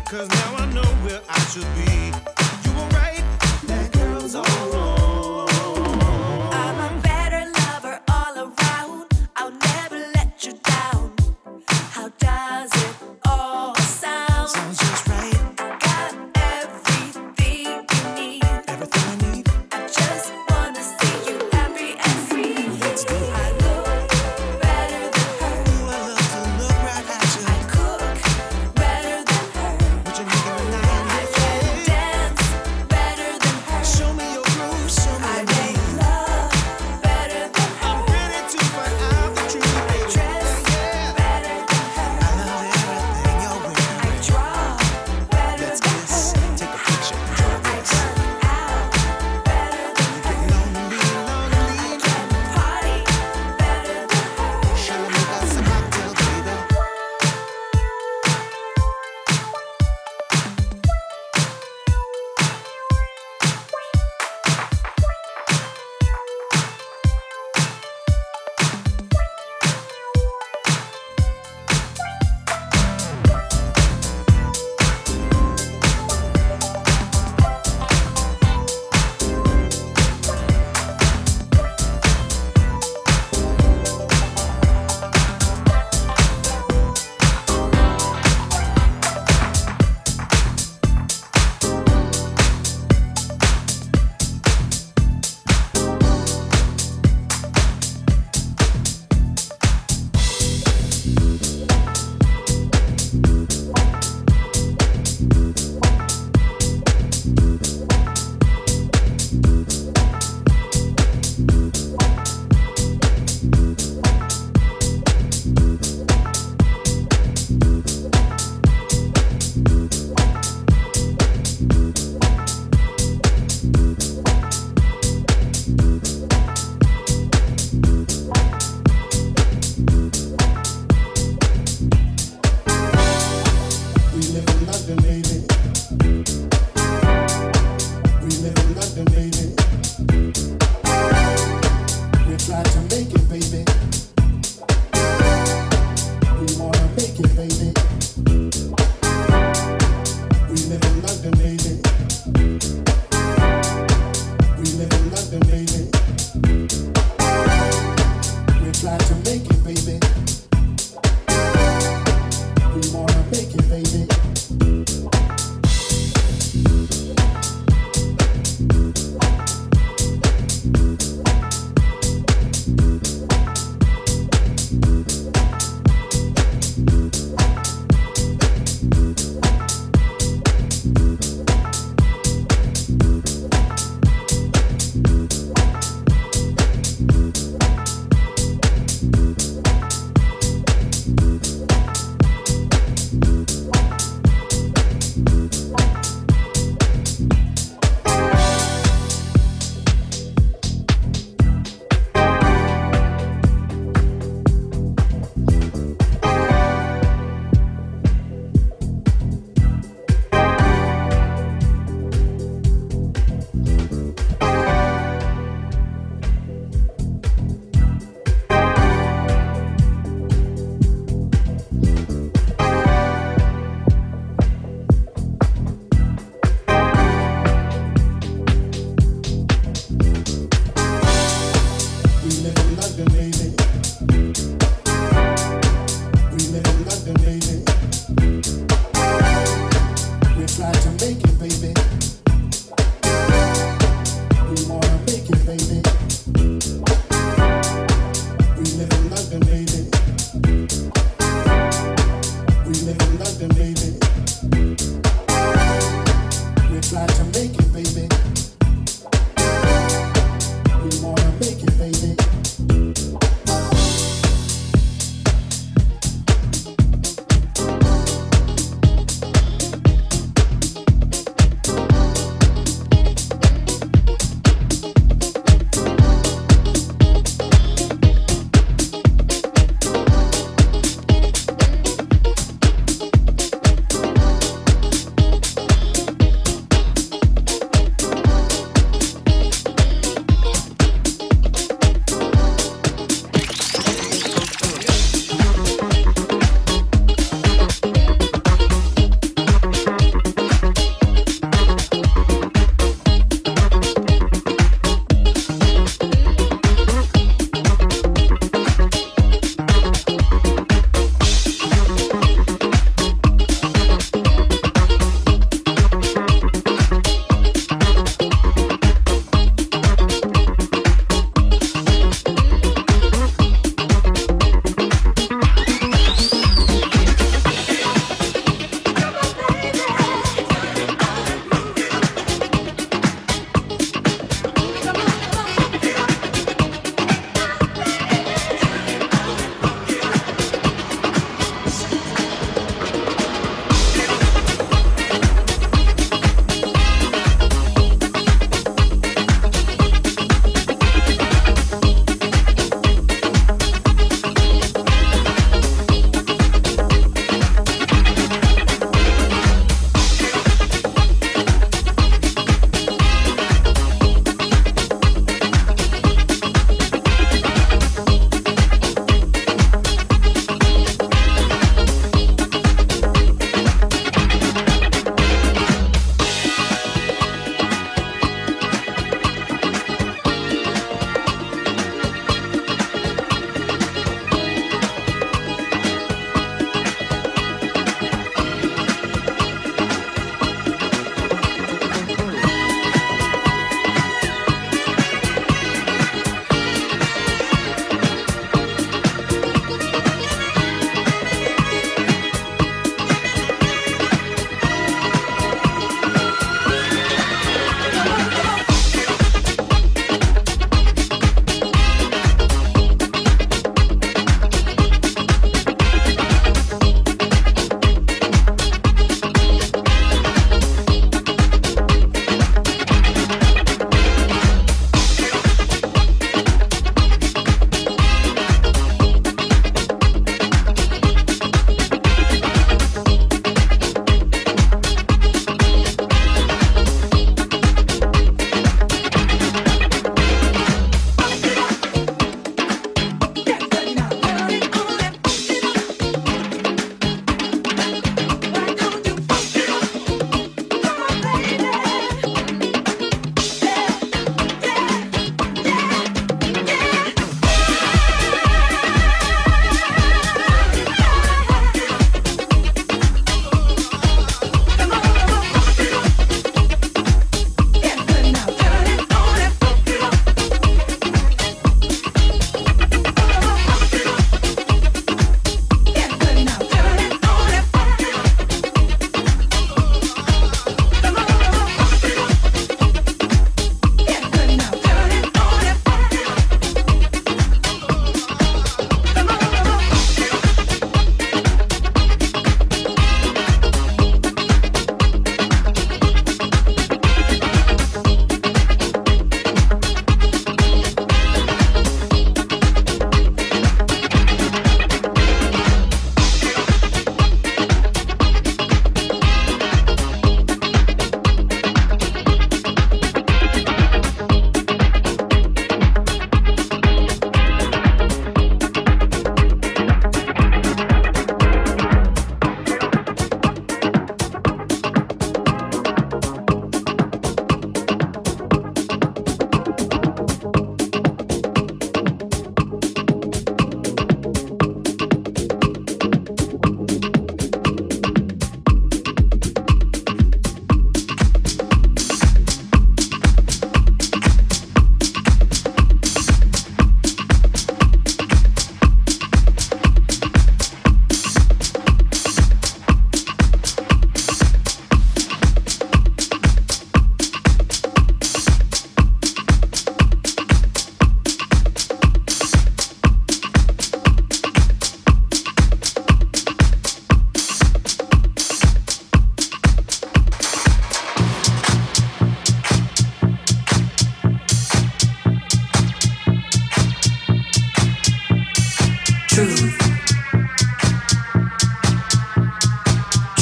'cause now I know where I should be. You were right, that girl's all wrong. I'm a better lover all around. I'll never let you down. How does it all sound? Sounds just right. Got everything you need. Everything I need. I just wanna see you happy and free. Let's do it. I look better than her. Ooh, I love to look right at you. I cook better than her. What you making tonight? I can dance better than her. Show me your groove.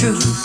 truth.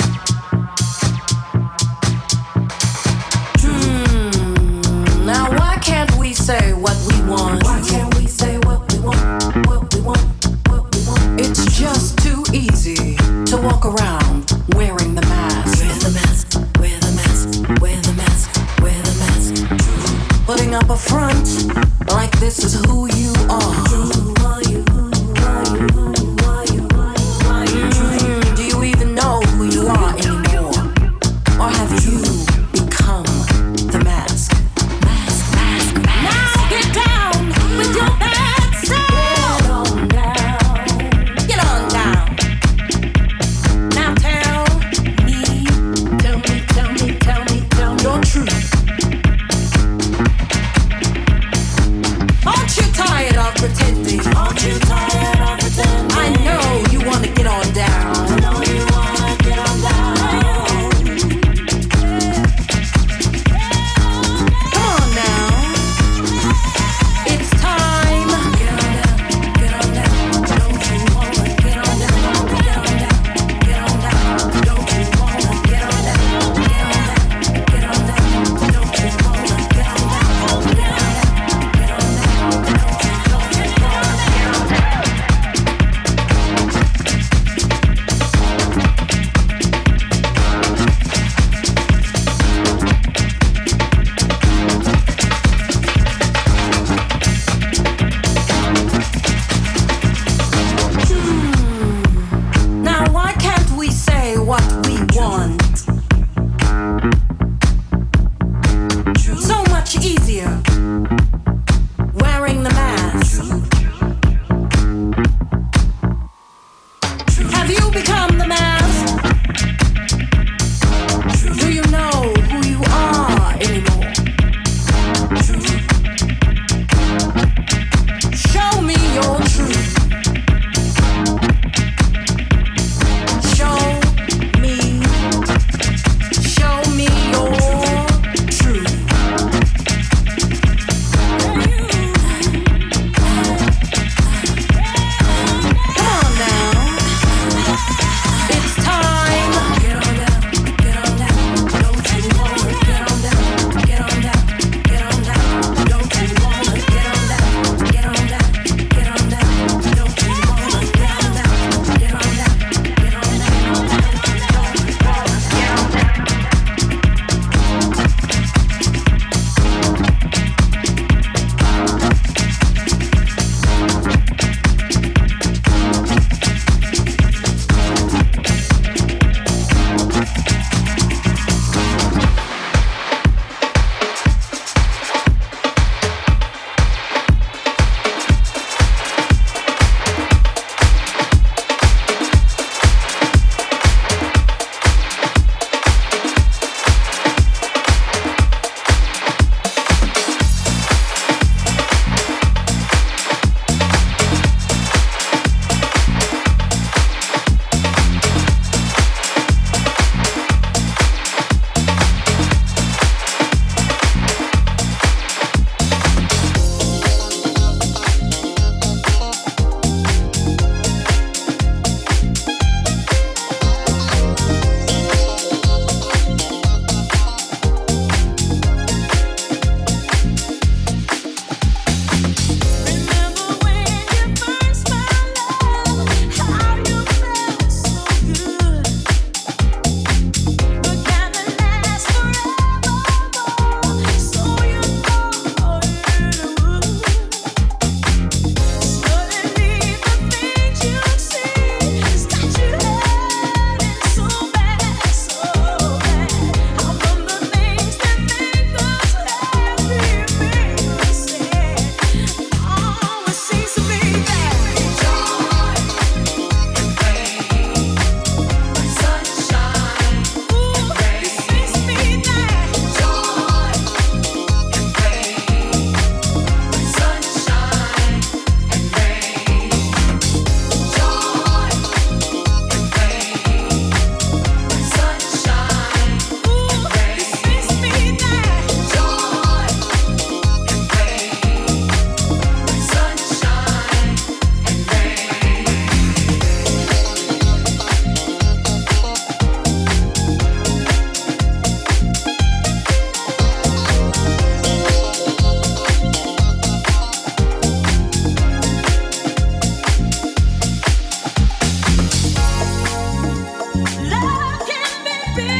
Now why can't we say what we want? Why can't we say what we want? What we want? What we want? It's just too easy to walk around wearing the mask. Wear the mask. Wear the mask. Wear the mask. Wear the mask. Putting up a front like this is who you are. Who are you? Who are you? Who are you? Who are you? Do you even know who you are anymore? Or have you become the mask? Now get down with your bad self. Get on down. Get on down. Now tell me your truth. Aren't you tired of pretending?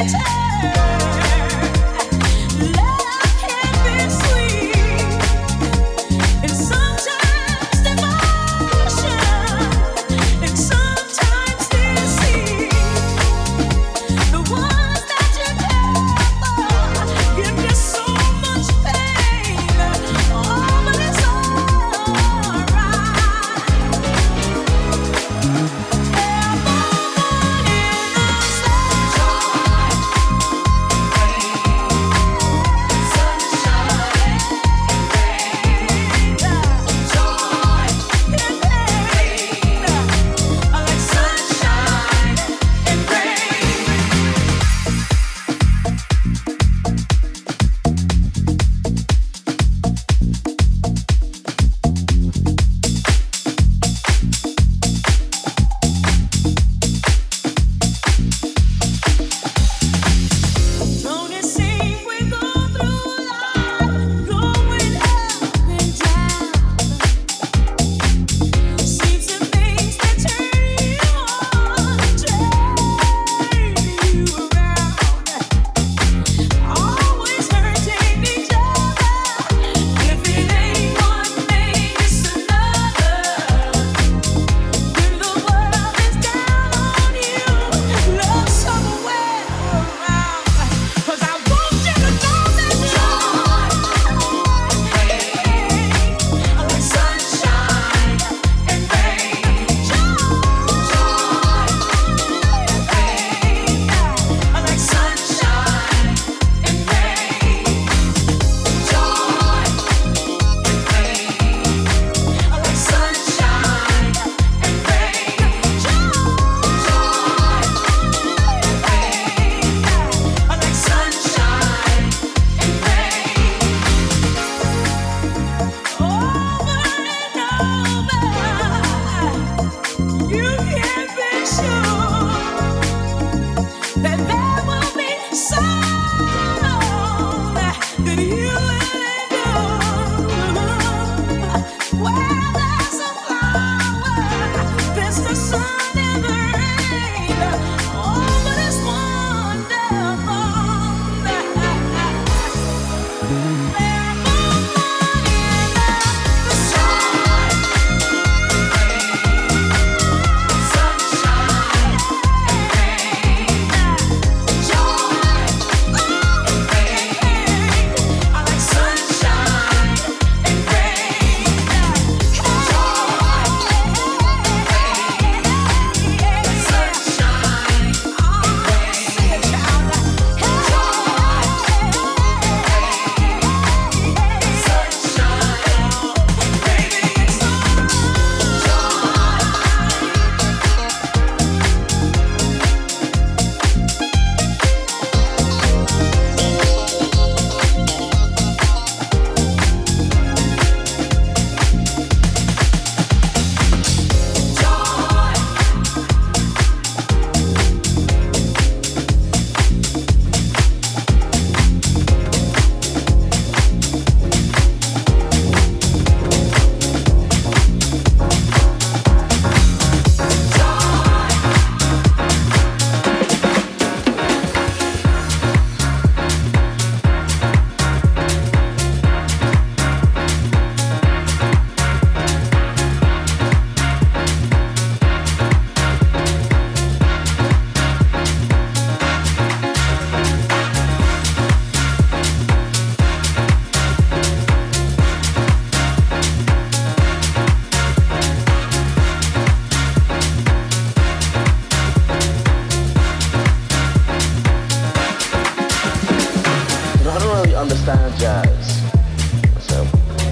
understand jazz. I said,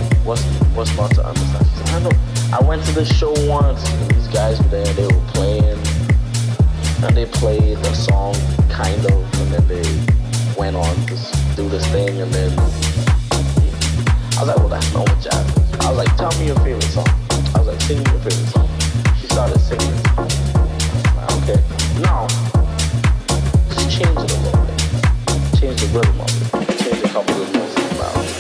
what's not to understand? She said, I know. I went to the show once, and these guys were there, they were playing, and they played a song, kind of, and then they went on to do this thing, and then I was like, well, that's not what jazz is. I was like, tell me your favorite song. I was like, sing me your favorite song. She started singing it. Like, okay, now, just change it a little bit. Change the rhythm of it. Change a couple of notes about it.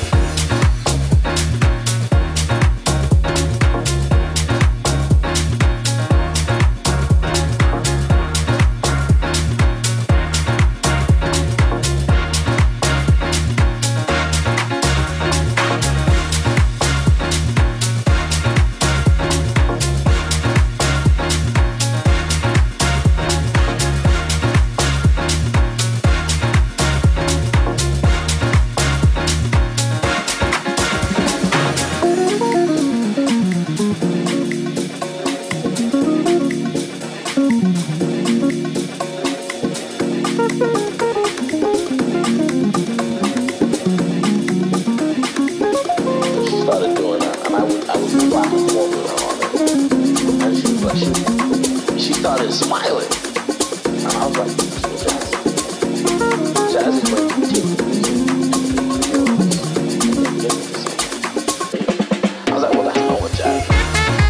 sounds like jazz. Jazz is when you take I was like, well, that's not what jazz is.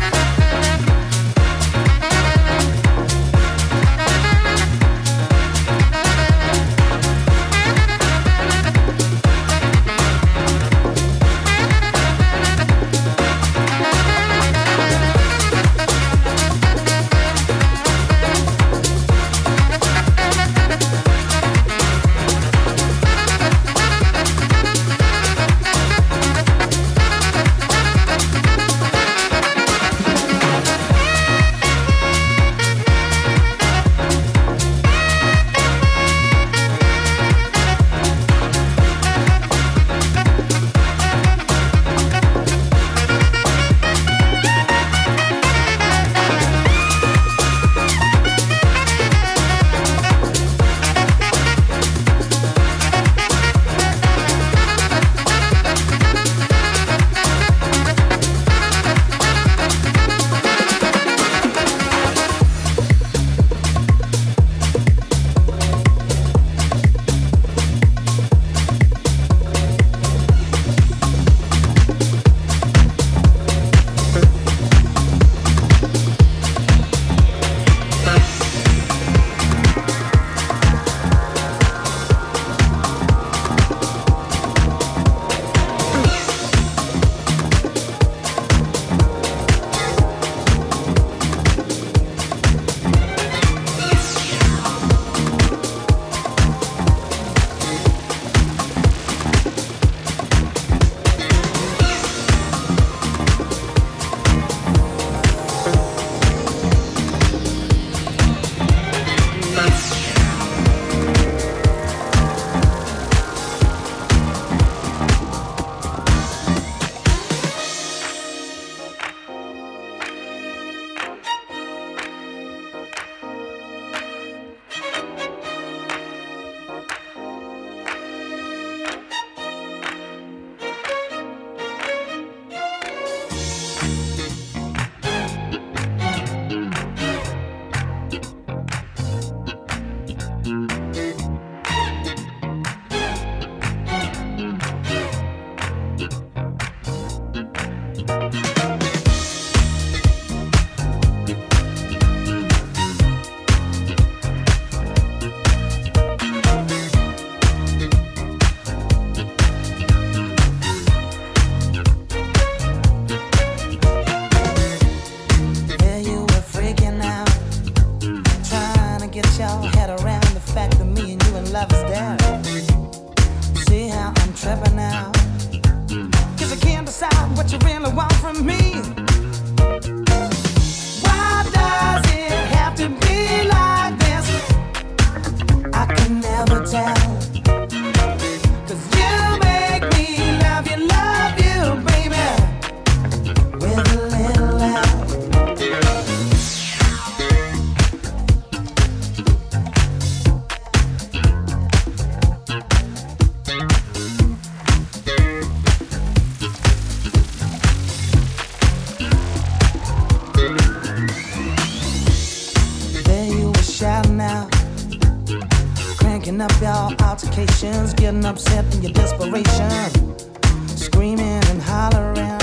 up your altercations, getting upset in your desperation, screaming and hollering.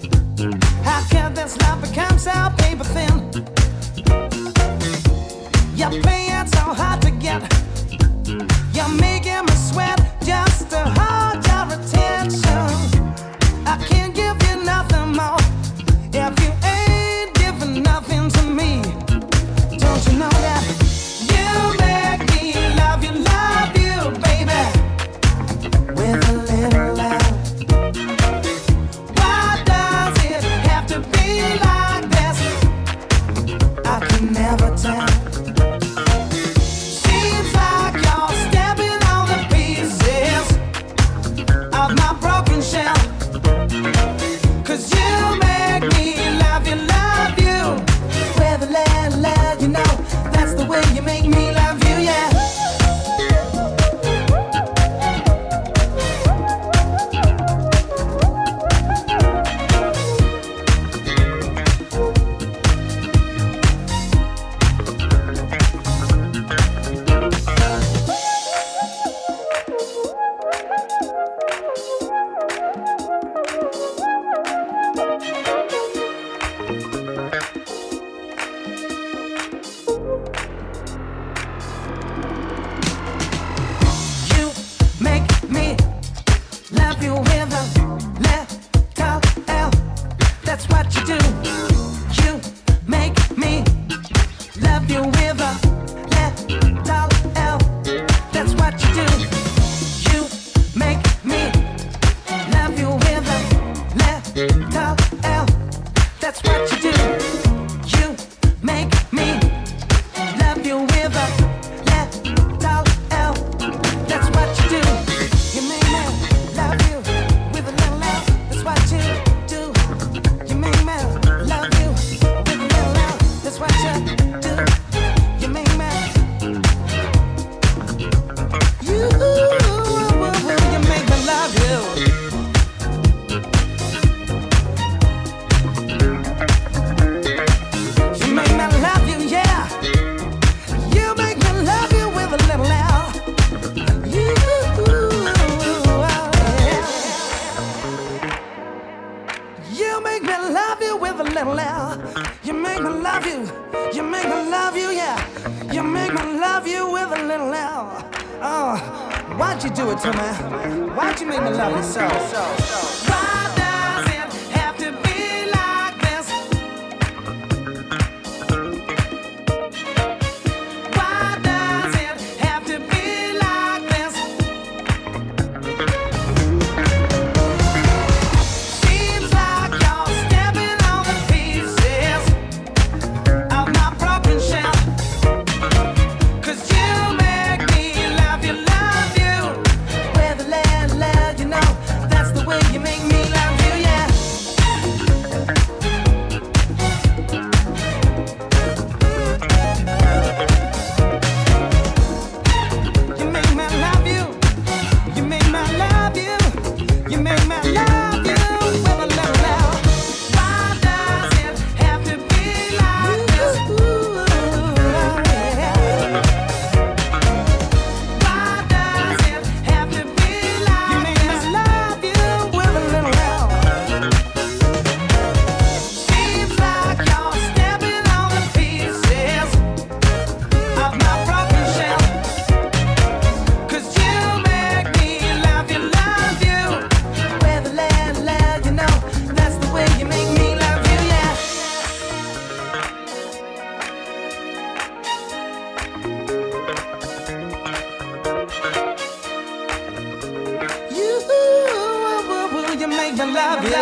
How can this love become so paper thin? You're playing so hard to get. You're making me sweat just to hold your attention. I can't give you nothing more if you ain't giving nothing to me. Don't you know that? You make me love you, baby, with a little love. Why does it have to be like this? You make me love you with a little L. Oh, why'd you do it to me? Why'd you make me love you so? Why does it have to be like this? Why does it have to be like this? Seems like you're stepping on the pieces of my broken shell. 'Cause you make me love you with a little, you know, that's the way you make me love you, yeah. You make me love you, you make me love you, you make me love you with a little love. Why does it have to be like this? Ooh, yeah. Why does it have to be like you make me love you with a little love? Seems like you're stepping on the pieces of my broken shell. 'Cause you make me love you with a little, you know, that's the way you make me love you, yeah. You make me love you.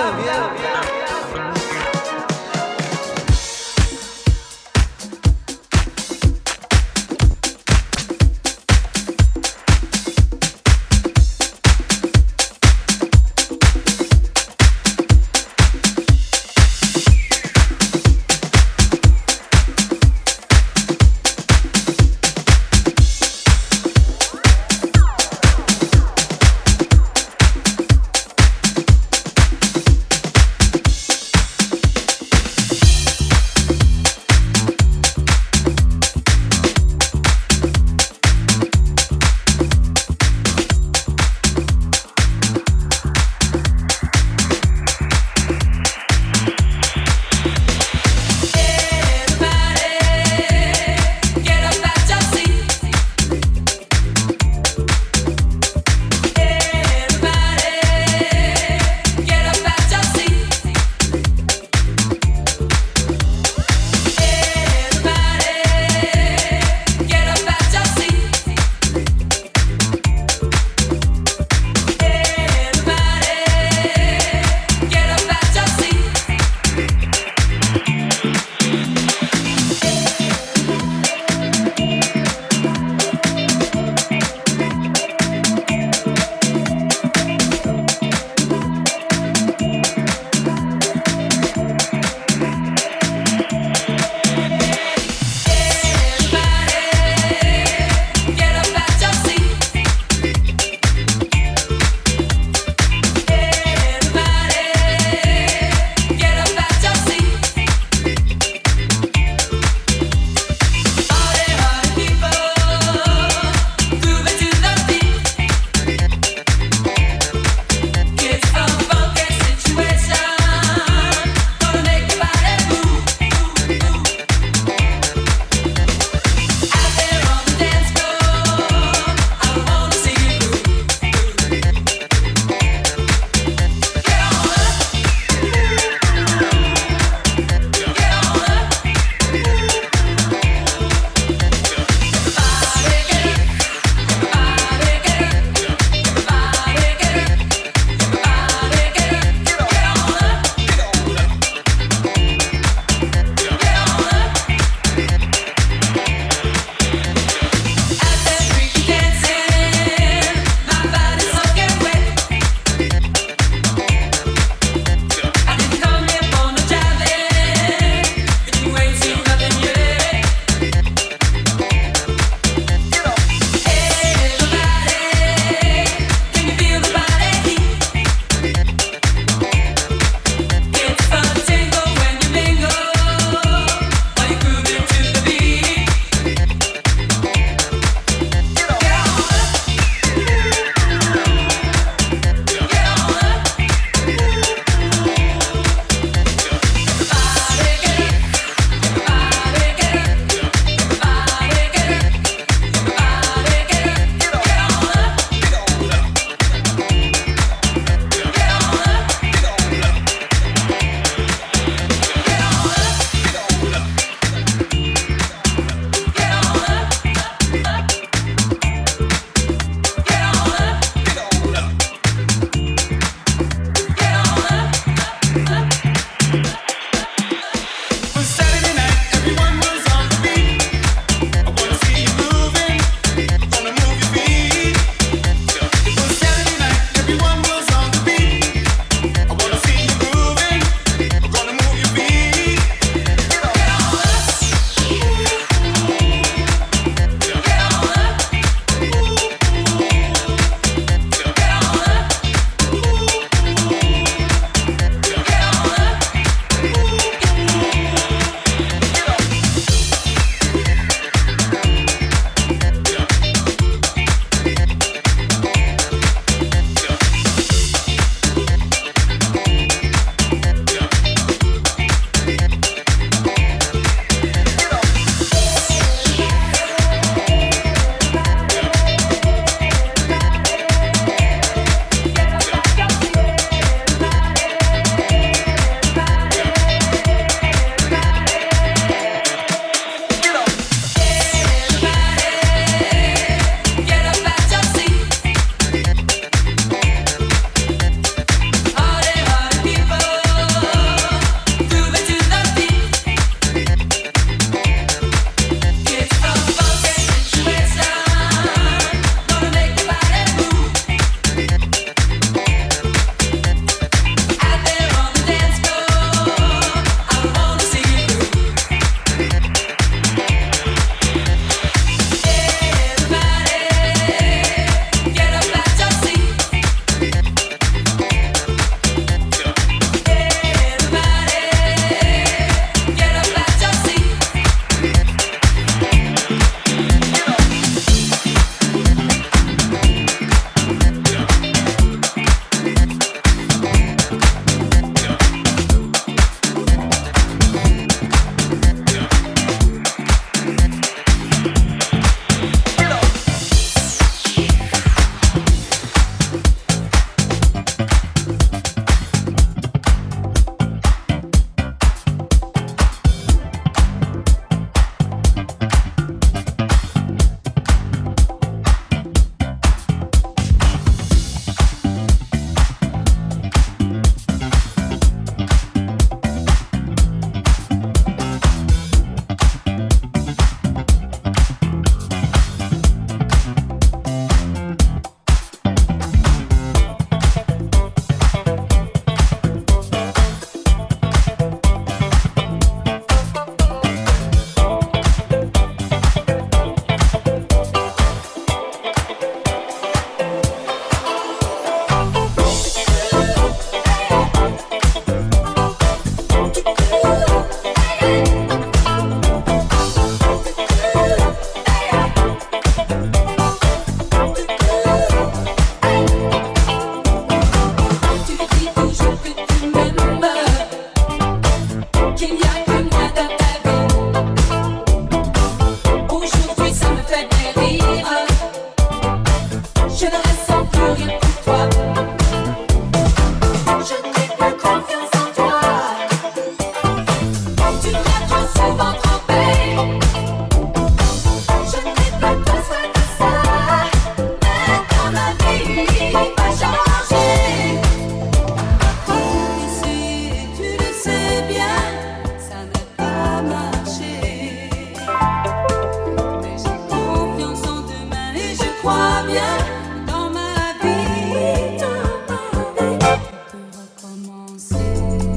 crois bien dans ma vie, on peut recommencer.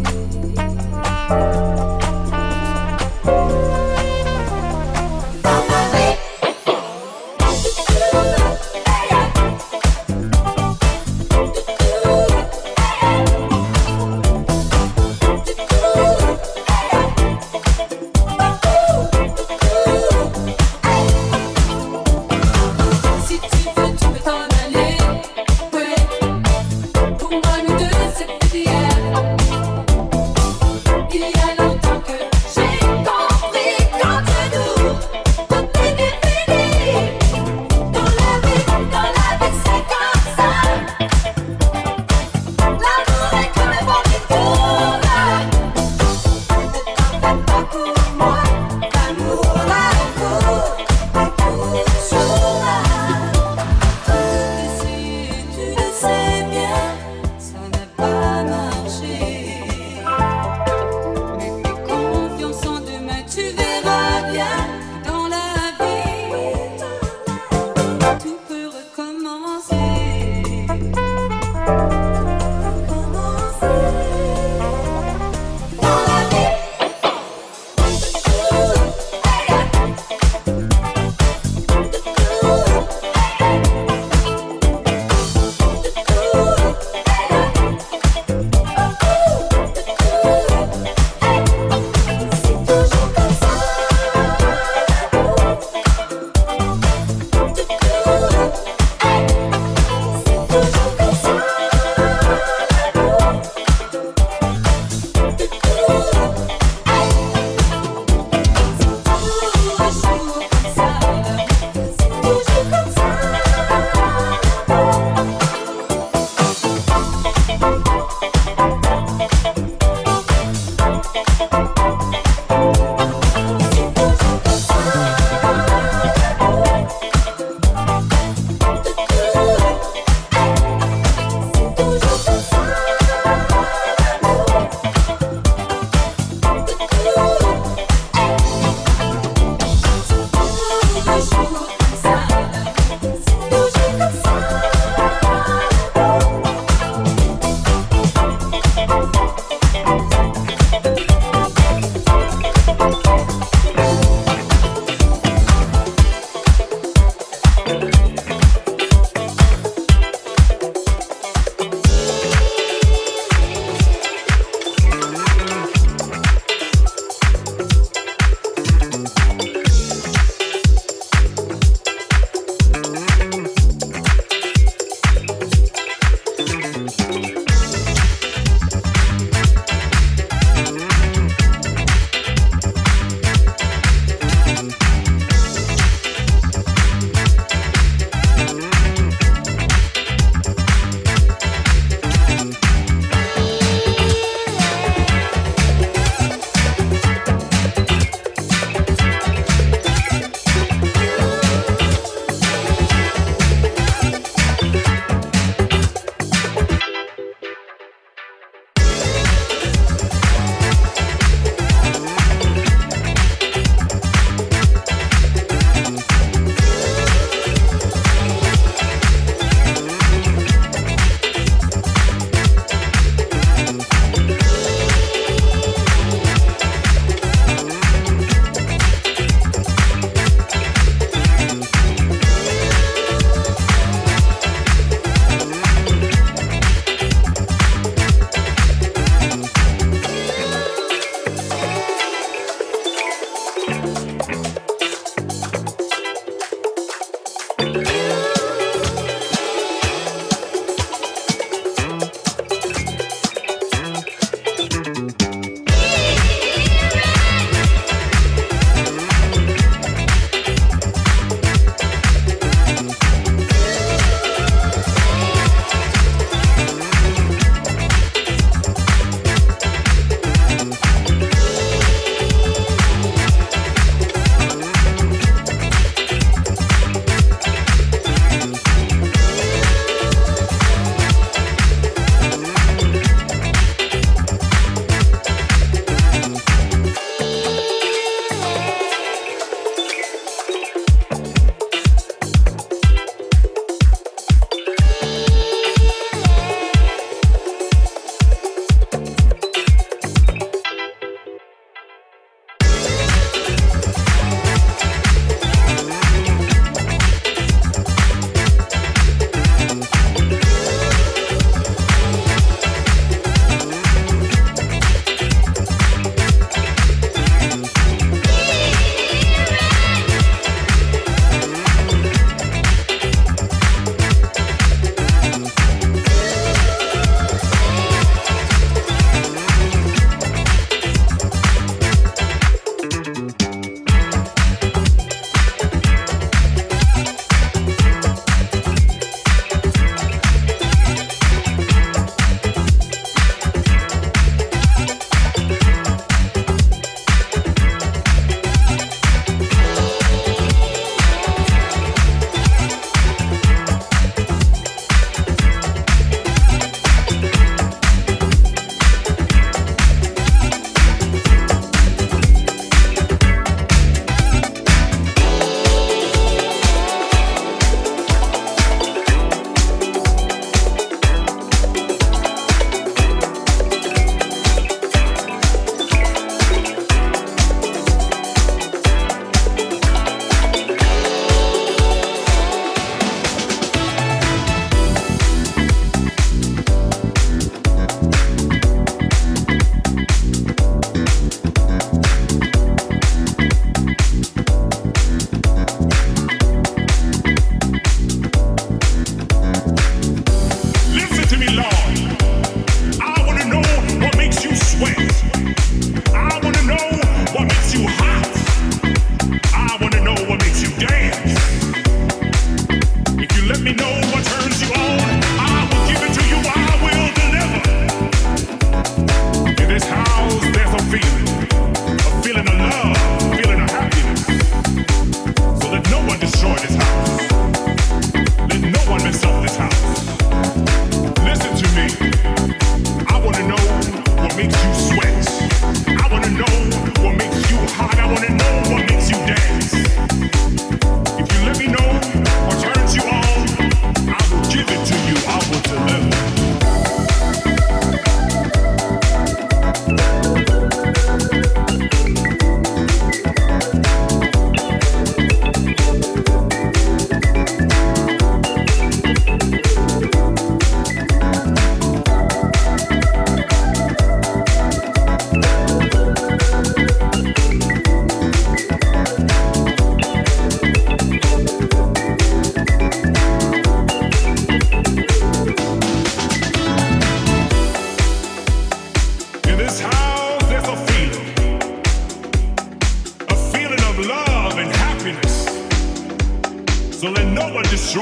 Si tu veux, tu peux t'en aller. Ouais, pour moi, nous deux, c'est plus d'hier. Il y a longtemps que j'ai compris qu'entre nous, tout est fini. Dans la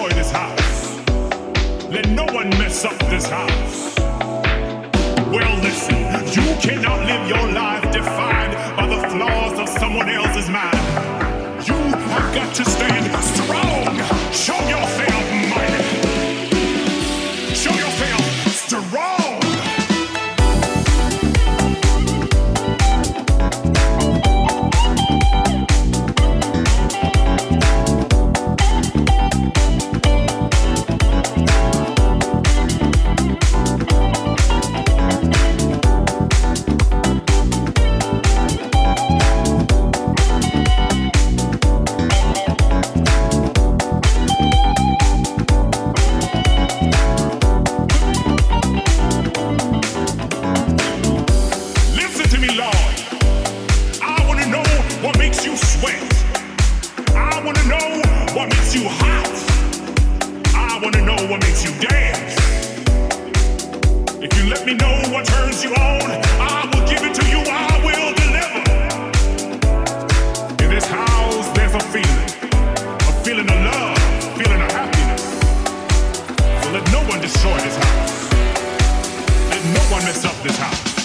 destroy this house. Let no one mess up this house. Well, listen, you cannot live your life defined by the flaws of someone else's mind. You have got to stand strong. Show yourself mighty. Show yourself strong. Destroy this house. Let no one mess up this house.